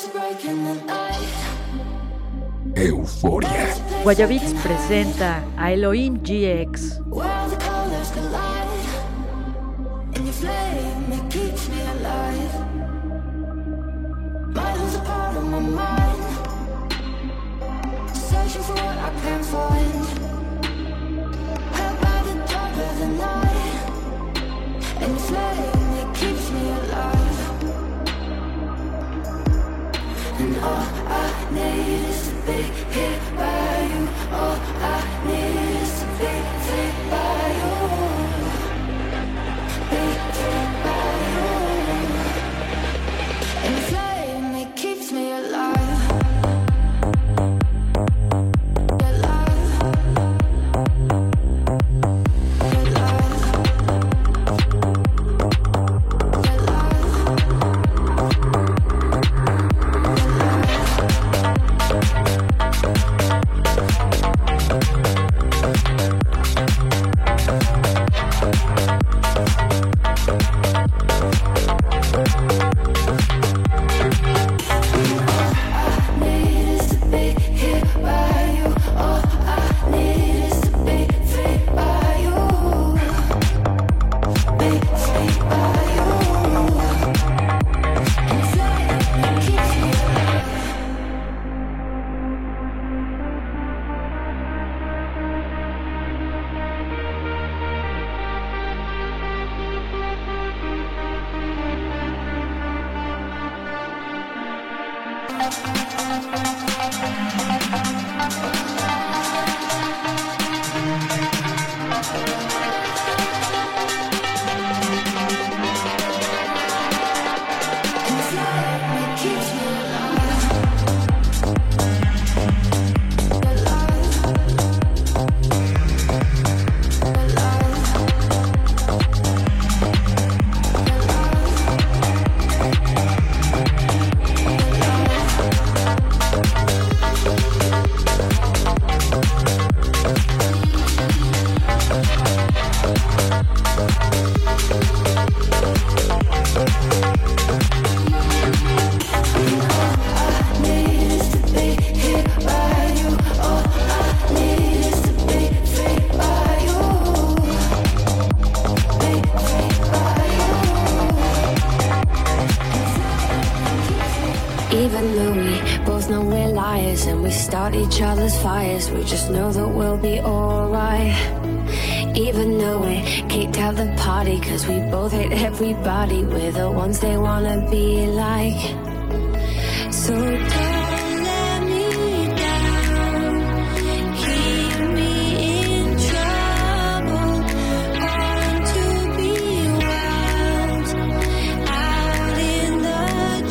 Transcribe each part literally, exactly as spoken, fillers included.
Euforia. Guayabits presenta a Elohim G X. And all I need is to be here by you. All I need is to be free by you. Be free by you. And the flame, it keeps me alive. Each other's fires, we just know that we'll be alright. Even though we kicked out the party, cause we both hate everybody, we're the ones they wanna be like. So don't let me down, keep me in trouble, born to be wild, out in the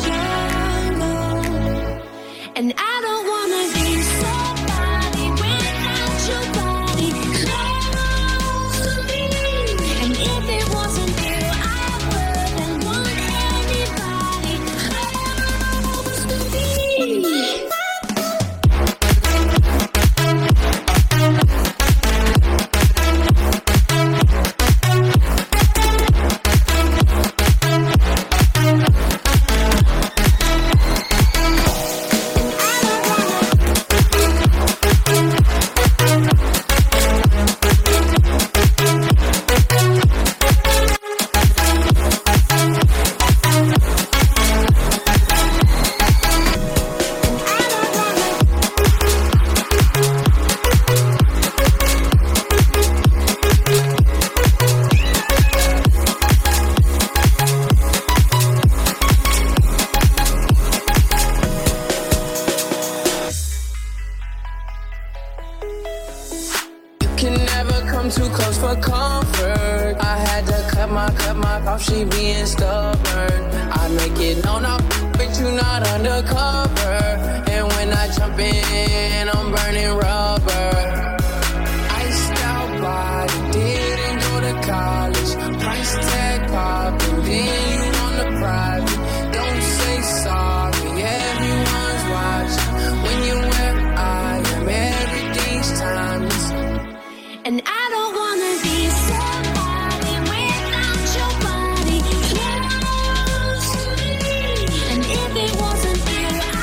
jungle. And I don't wanna be she being stubborn. I make it known I'm but you not undercover. And when I jump in, I'm burning rubber. Iced out body, didn't go to college. Price tag popping, then you on the private. Don't say sorry, everyone's watching. When you're where I am, everything's timeless. And I don't wanna be somebody without your body close to me. And if it wasn't you,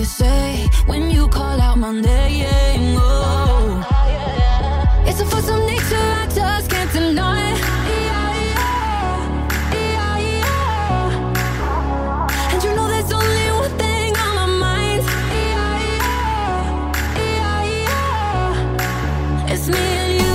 say when you call out my name. Oh, it's a force of nature I just can't deny. Yeah, yeah, yeah, yeah. And you know there's only one thing on my mind. Yeah, yeah, yeah, yeah. It's me and you.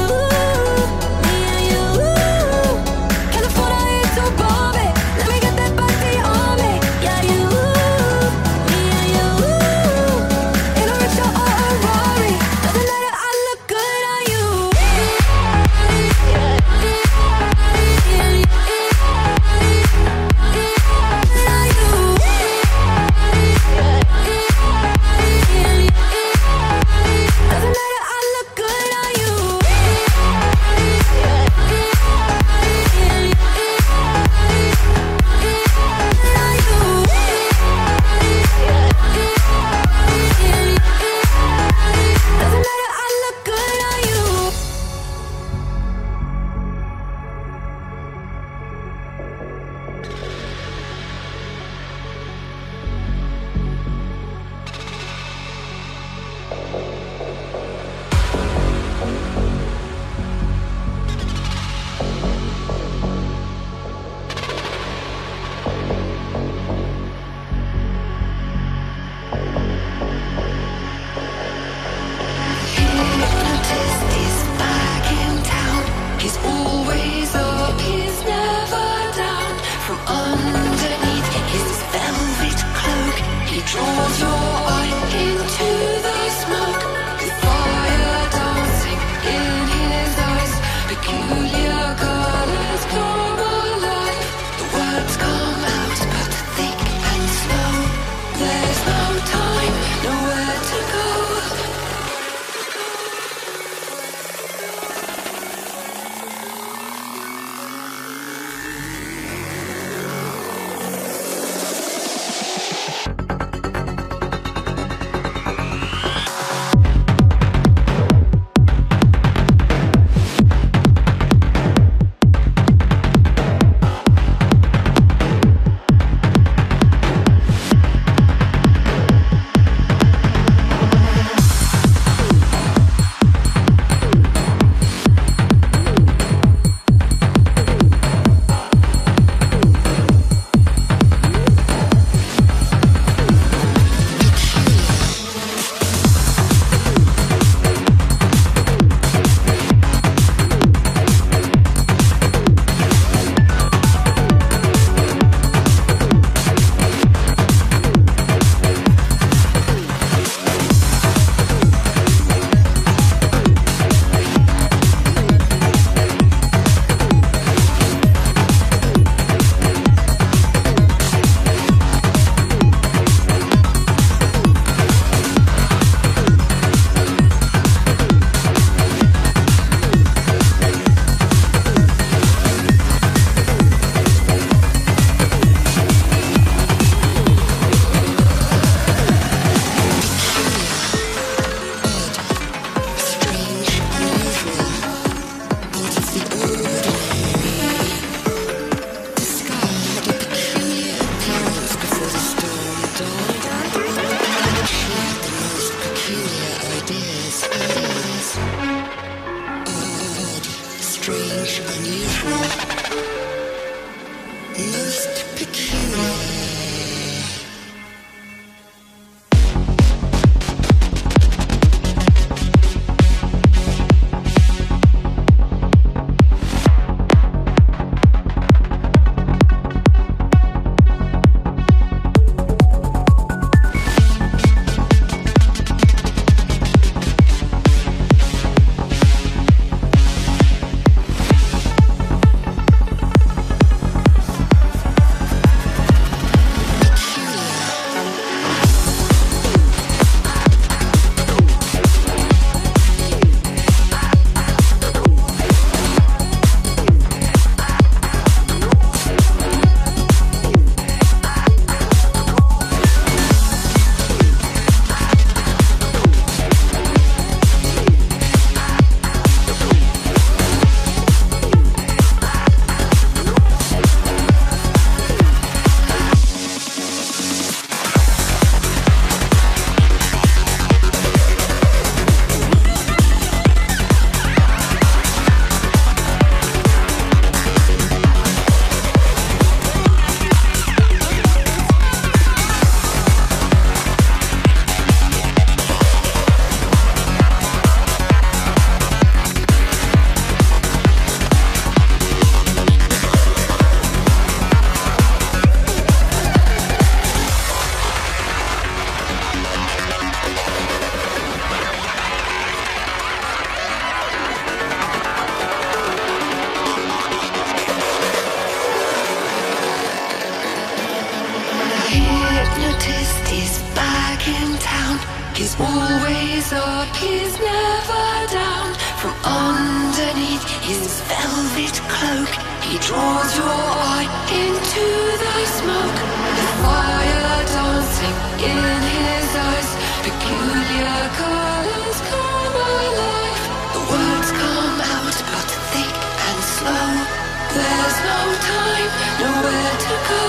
He's always up, he's never down. From underneath his velvet cloak, he draws your eye into the smoke. The fire dancing in his eyes, peculiar colors come alive. The words come out but thick and slow. There's no time, nowhere to go.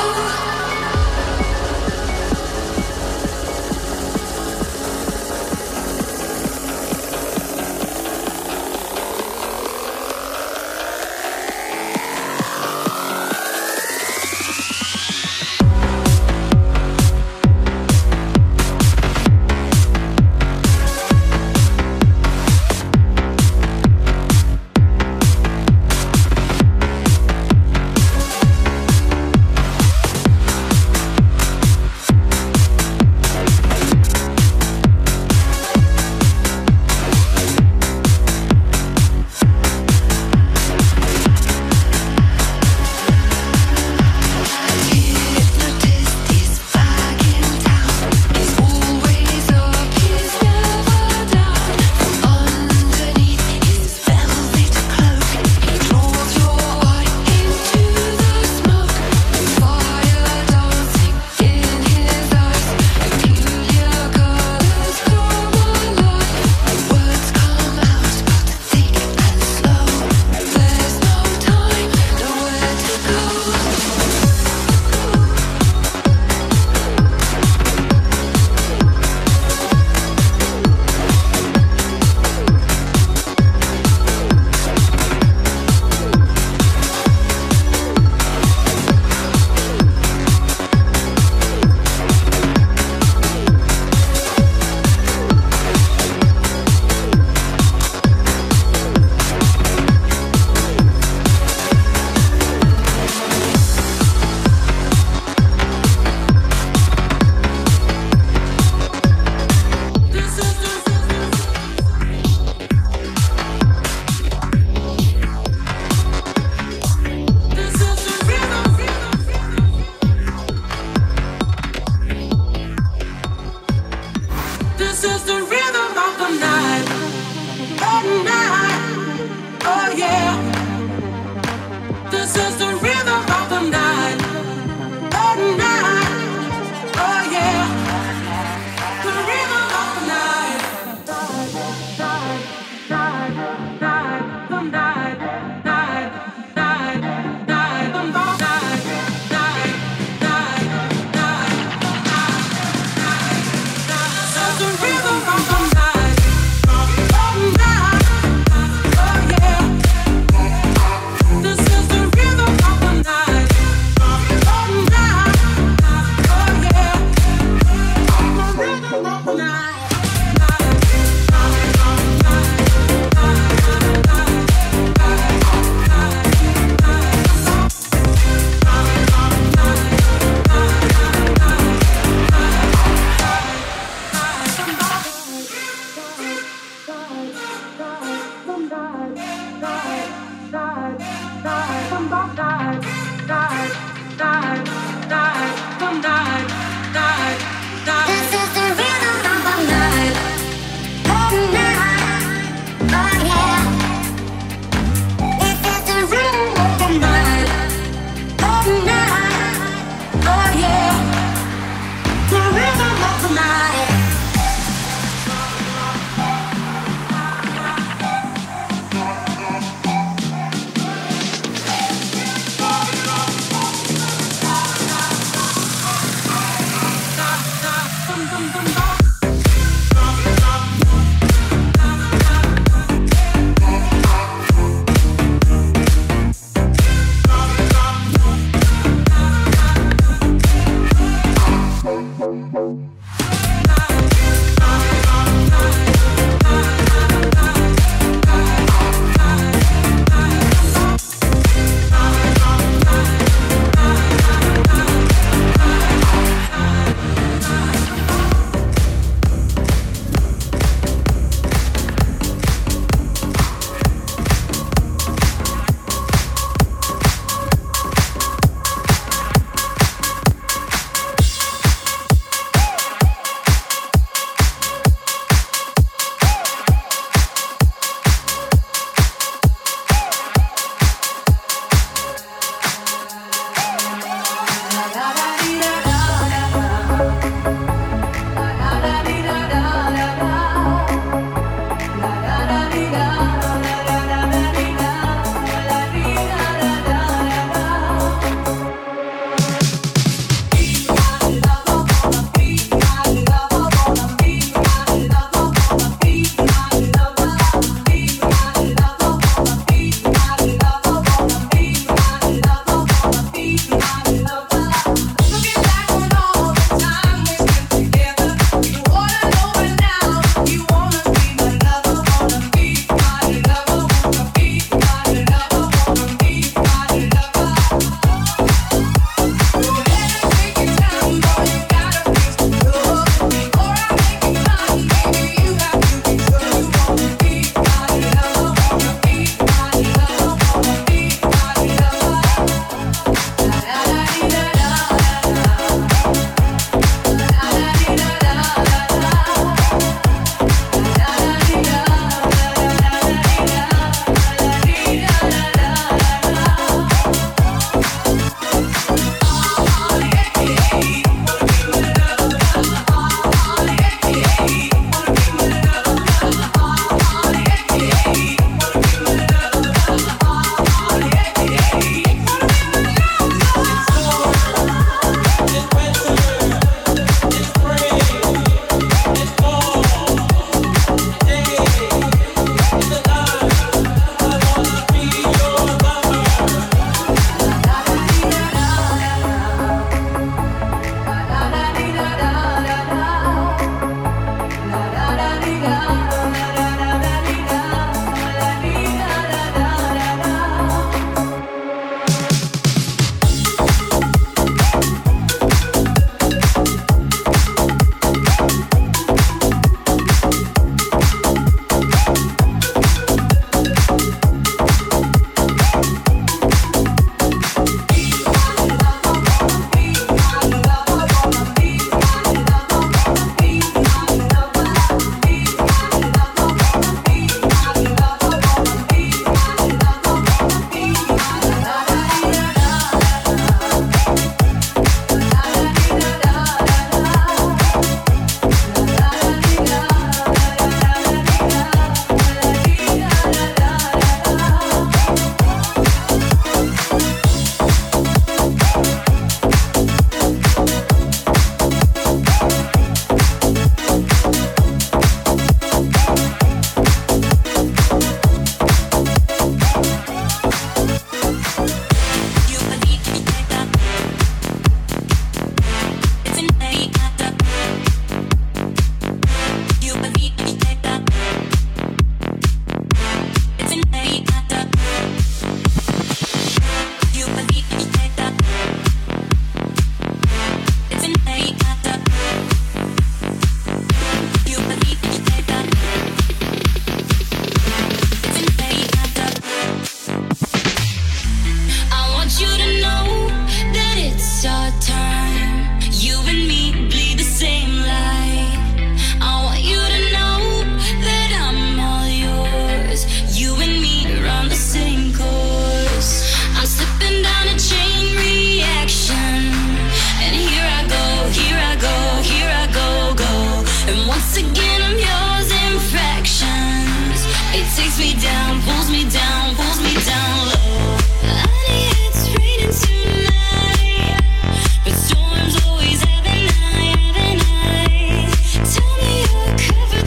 Once again I'm yours in fractions. It takes me down, pulls me down, pulls me down low. Honey, it's raining tonight, but storms always have an eye, have an eye. Tell me you're covered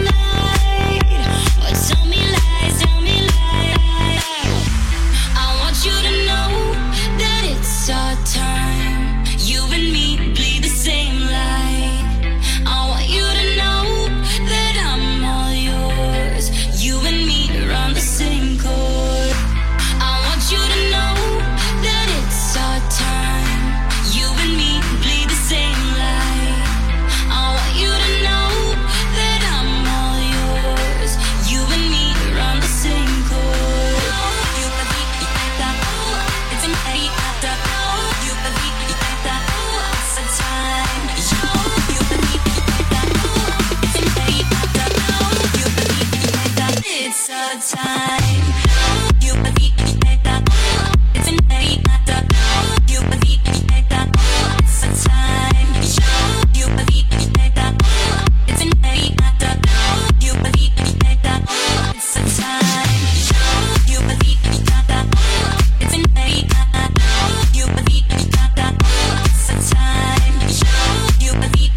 tonight, or tell me lies, tell me lies. I want you to know that it's our time. You and me bleed the same light. I want you to know that I'm all yours. You and me run the same chord. I want you to know that it's our time. You and me bleed the same light. I want you to know that I'm all yours. You and me run the same chord. You and me, it's an eight after. You and me, it's a time. You and me, it's an eight after. You and me, it's a time. You and me, it's an eight after. You and me, it's a time. You and me, it's an eight after. You and me, it's a time. You and me, it's an eight after. You and me, it's a time. You and me,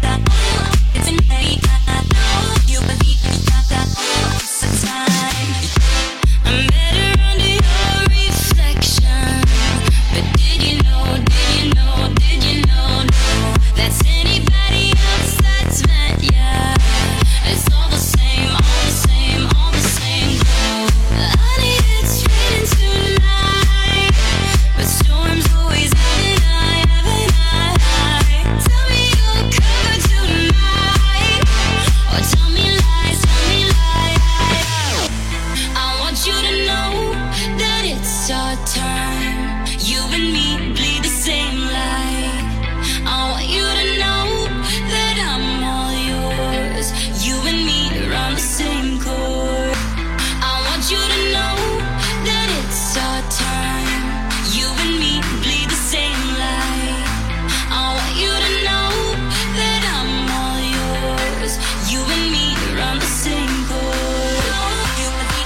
it's an eight after. You and me, it's a time. I'm better under your reflection. But did you know, did you know, did you know, no, that's anybody else that's met ya. It's all the same, all the same, all the same. Honey, it's raining tonight, but storms always have an eye, have an eye. Tell me you're covered tonight, or tell me lies, tell me lies. I want you to know that it's our time. You and me bleed the same light. I want you to know that I'm all yours. You and me run the same chord. I want you to know that it's our time. You and me bleed the same light. I want you to know that I'm all yours. You and me run the same chord. You and me,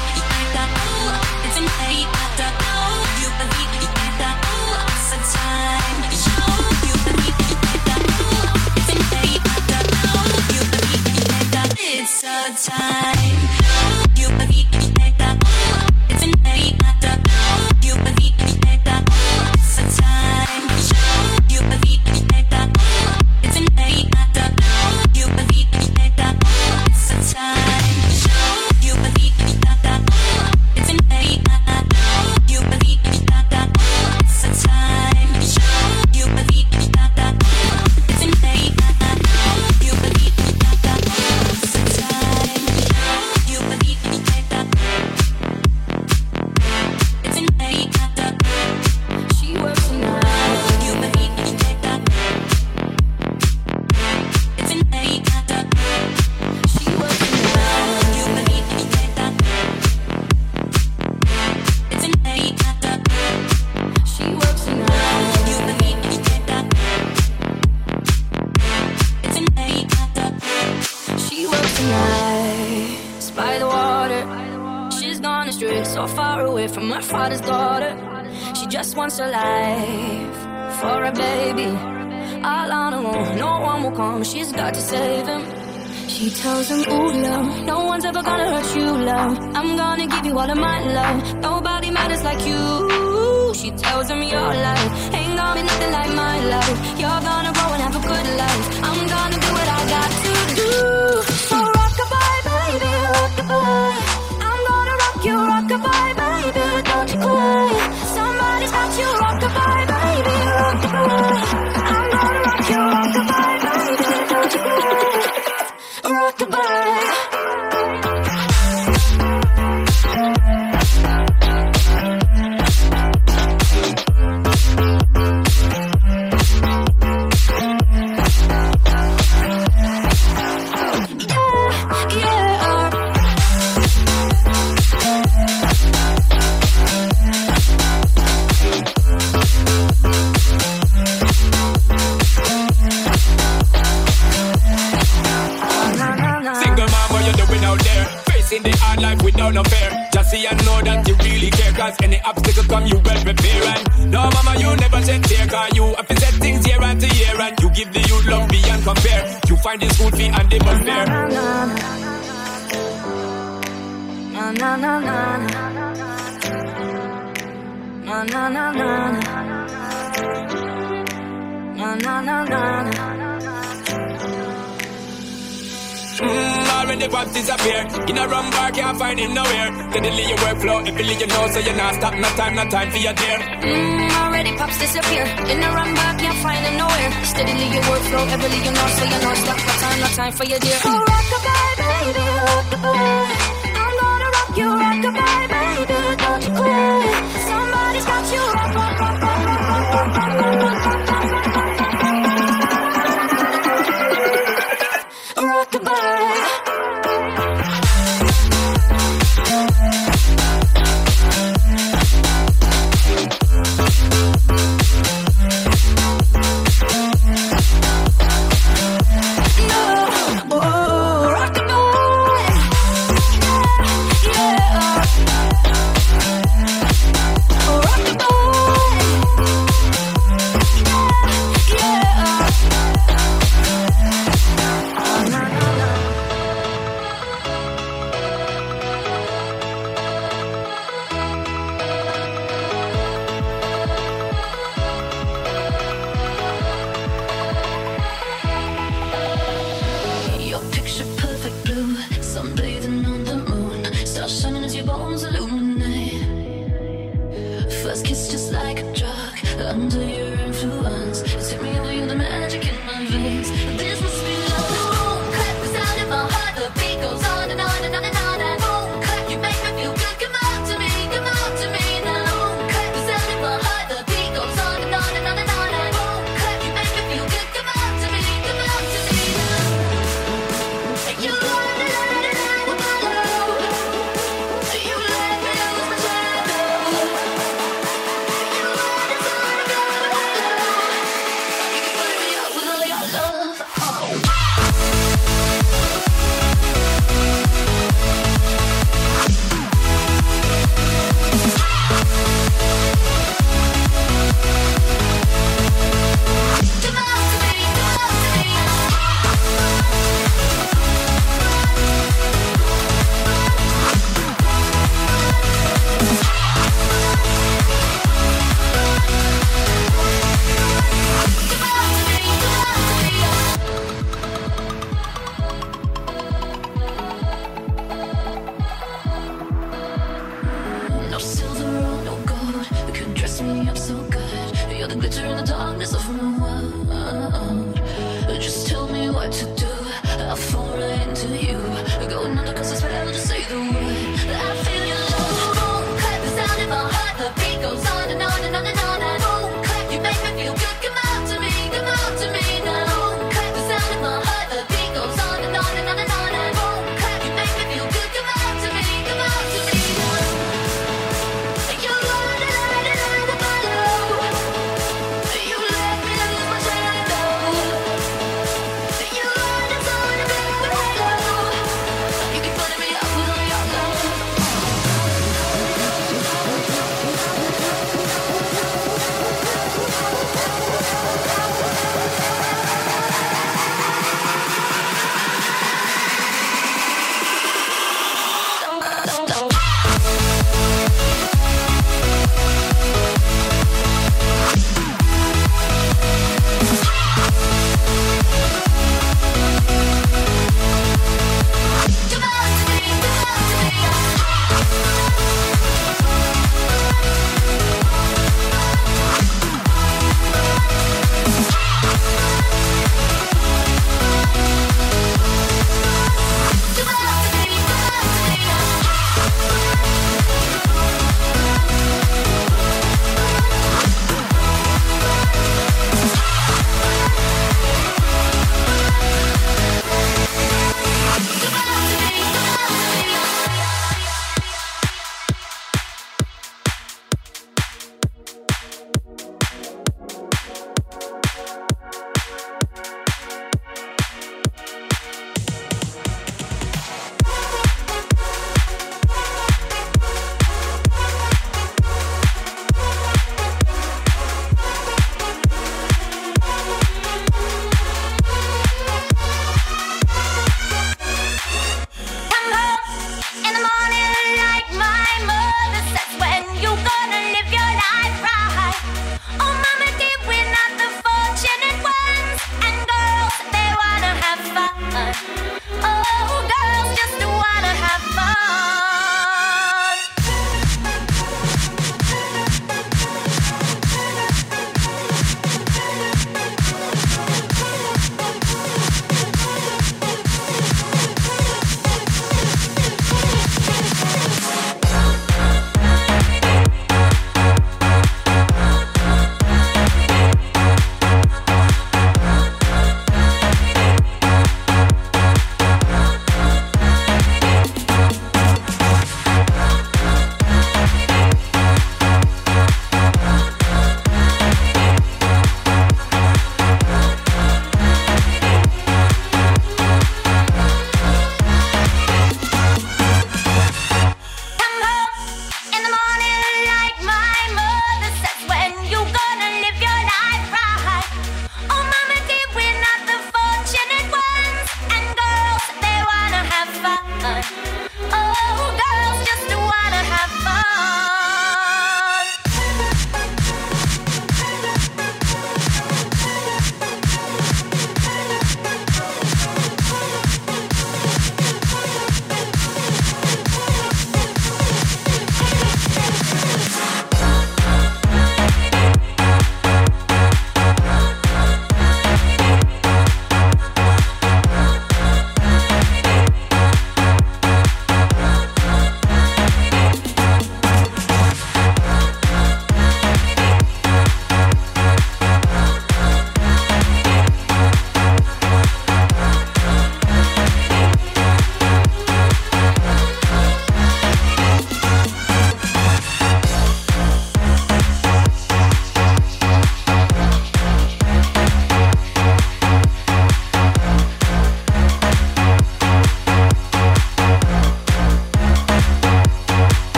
it's an eight after. You and me, it's a time. You and me, it's an eight after. You and me, it's a time. You and me, it's an eight after. You and me, it's a time. You and me, it's an eight after. You and me, it's a time. You and me, it's an eight after. You and me, it's a time. You and me, it's an eight after. You and me, it's a time. You and me, it's an eight after. She works tonight. You and me, it's an eight after. She works tonight. You and me, it's an eight after. She works tonight. You and me, it's an eight after. She works tonight. It's by the water. She's gone astray, so far away from her father's daughter. She just wants a life for a baby. All on her own, no one will come. She's got to save him. She tells him, ooh, love, no one's ever gonna hurt you, love. I'm gonna give you all of my love. Nobody matters like you. She tells him your life ain't gonna be nothing like my life. You're gonna grow and have a good life. I'm gonna do what I got to do. So rock-a-bye, baby, rock-a-bye. I'm gonna rock you, rock-a-bye, baby, don't you cry. Somebody's got you, rock-a-bye, baby, rock-a-bye. I'm gonna rock you, rock-a-bye, baby, don't you cry. Rock-a-bye. in the hard life without no fear. Just see and know that you really care, cause any obstacle come you well prepare. And no mama, you never shed tear, cause you have to set things year after year. And you give the youth love beyond compare. You find the school fee and the bus fare. Na na na na na na na na na na na na. Mmm, already pops disappear. In a wrong bar, can't find him nowhere. Steadily your workflow, every you know, so you're not stop, no time, no time for your dear. Mmm, already pops disappear. In a wrong bar, can't find him nowhere. Steadily your workflow, every you know, so you're not stop, no time, no time for your dear. So rock-a-bye, baby, rock-a-bye. I'm gonna rock you, rock-a-bye, baby, don't you cry. Somebody's got you, rock, rock, rock, rock, rock, rock, rock, rock, rock, rock.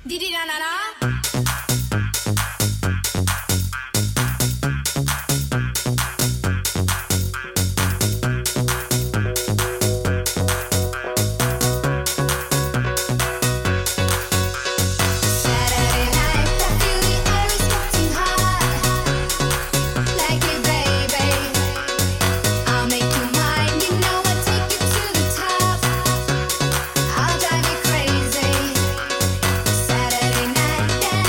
Didi na na na. Saturday night,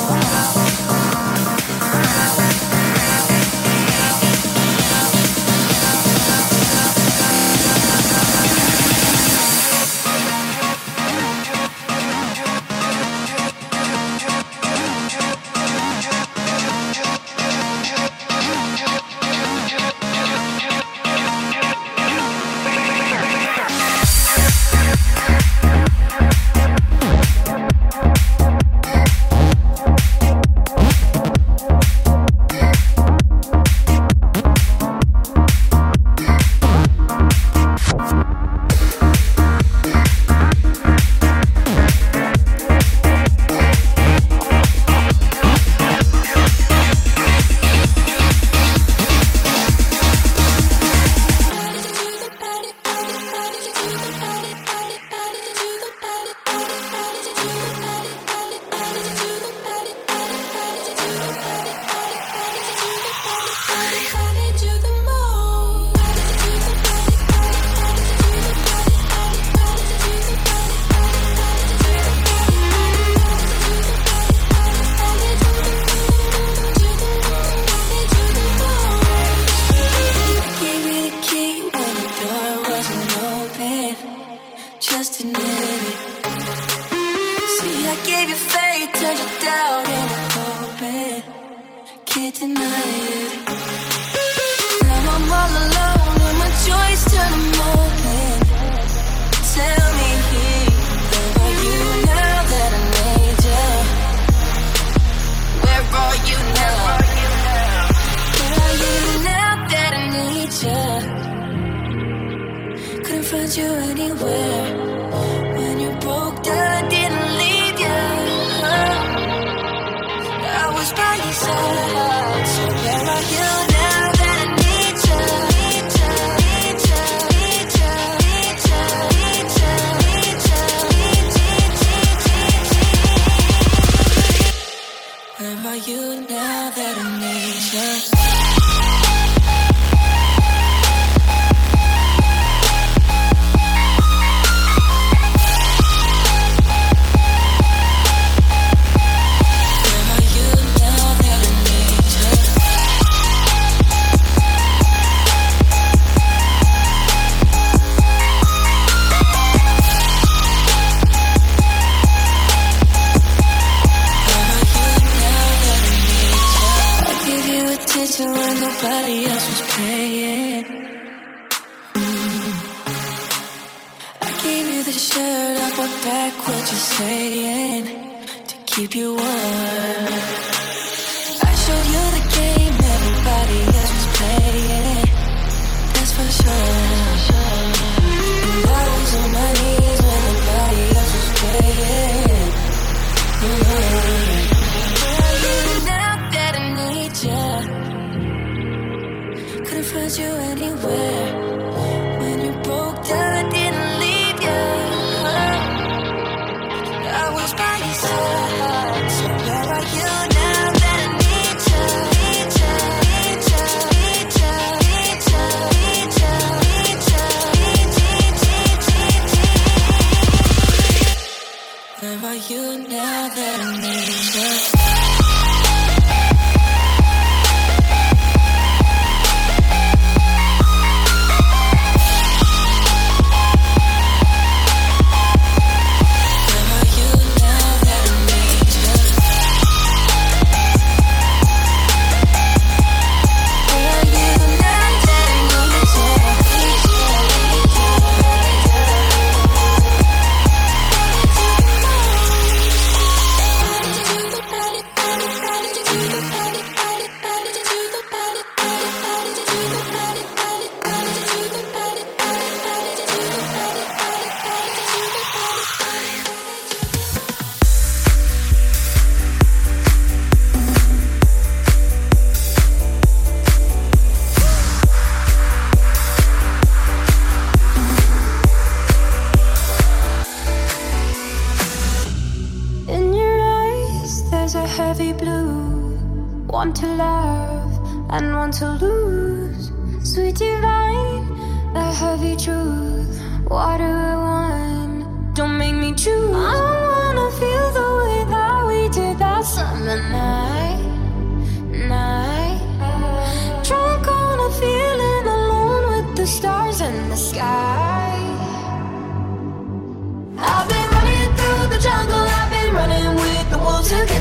Don't make me choose. I wanna feel the way that we did that summer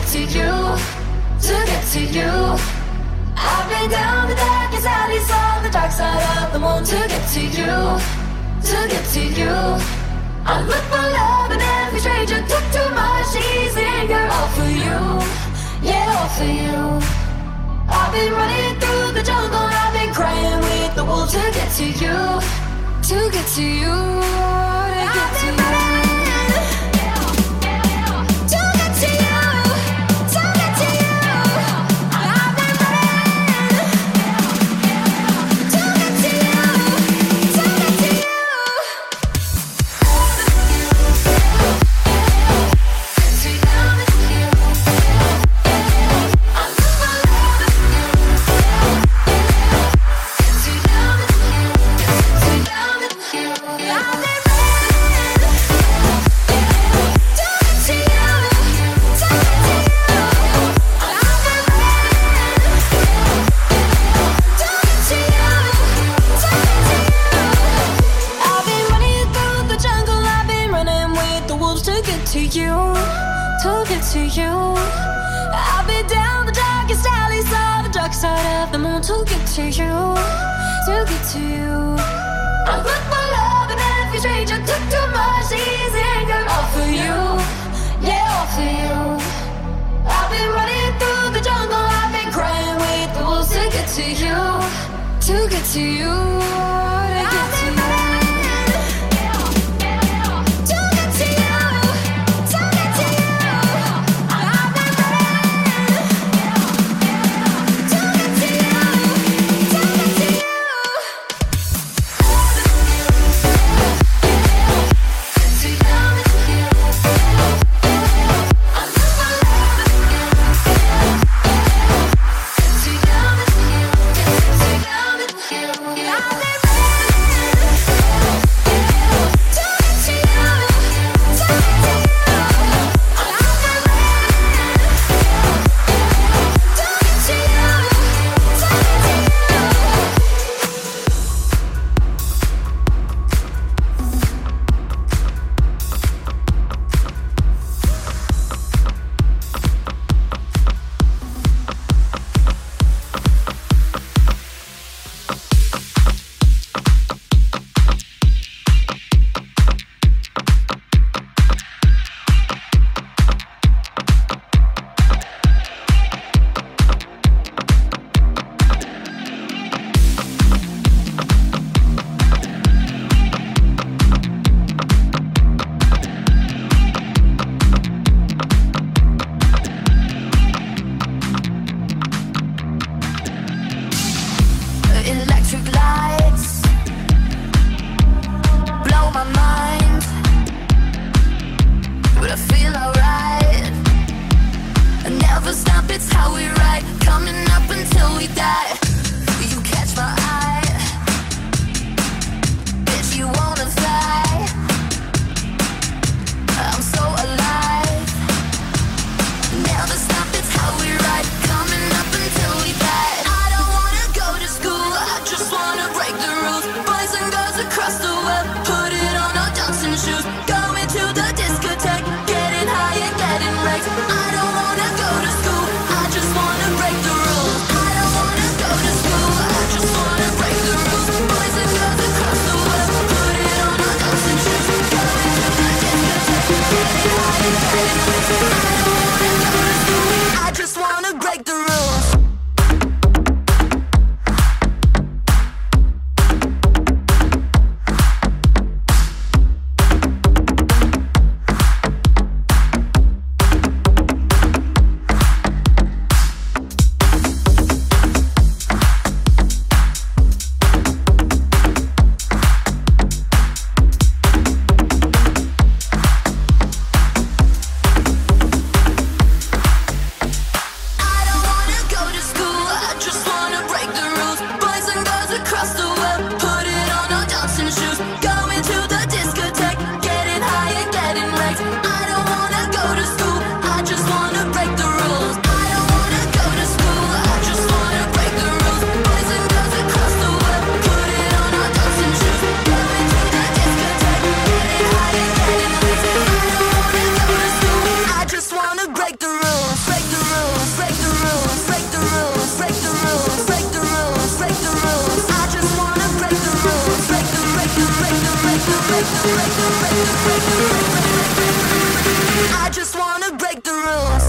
to you, to get to you. I've been down the darkest alleys on the dark side of the moon to get to you, to get to you. I look for love in every stranger, took too much easy anger, all for you, yeah, all for you. I've been running through the jungle, I've been crying with the wolves to get to you, to get to you, to get to you. I don't wanna go to school, I just wanna break the rules. I don't wanna go I just wanna break the rules.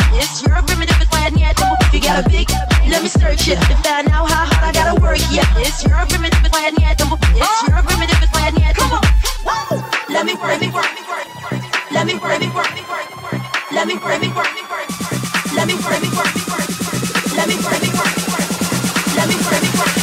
It's your primitive, it's why I need to. If you got a big, let me search it to find out how hard I gotta work. Yeah, it's your primitive, it's why I need to. It's your primitive, it's why I need to. Let me work, let me work, let me work, let me work, let me work, let me work, let me work, let me work, let me work, let me work, let me work, let me work.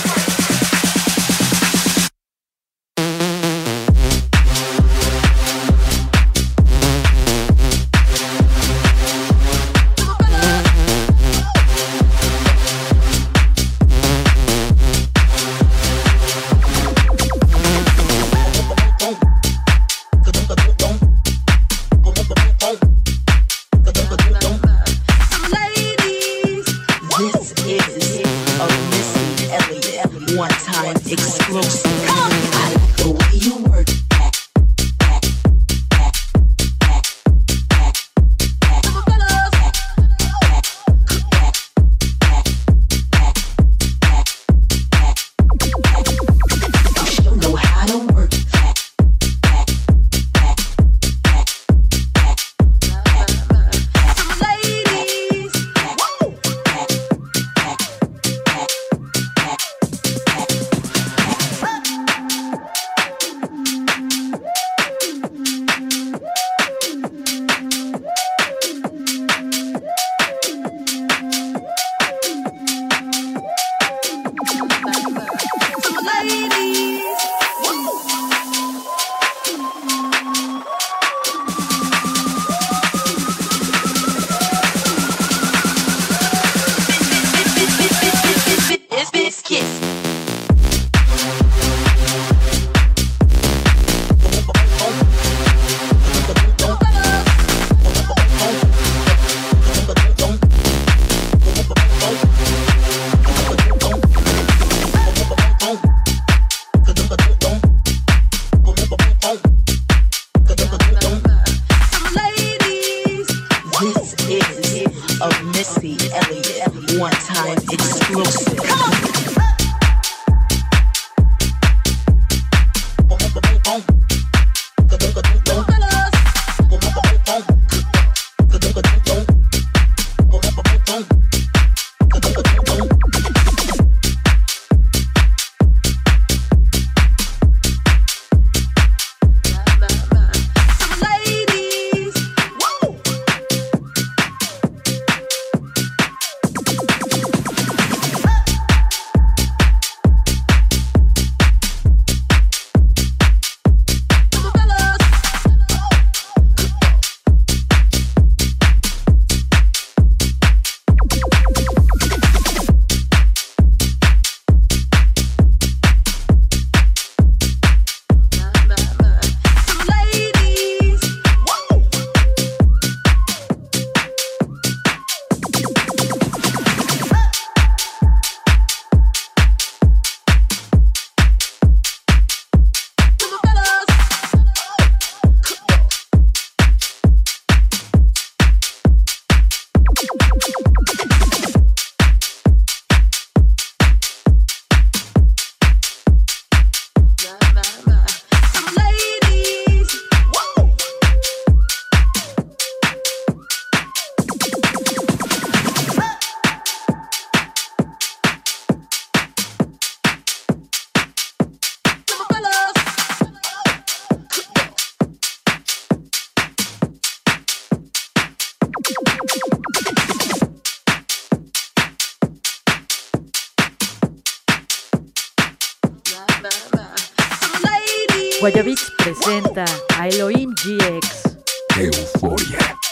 Guayabits presenta a Elohim G X. Euforia.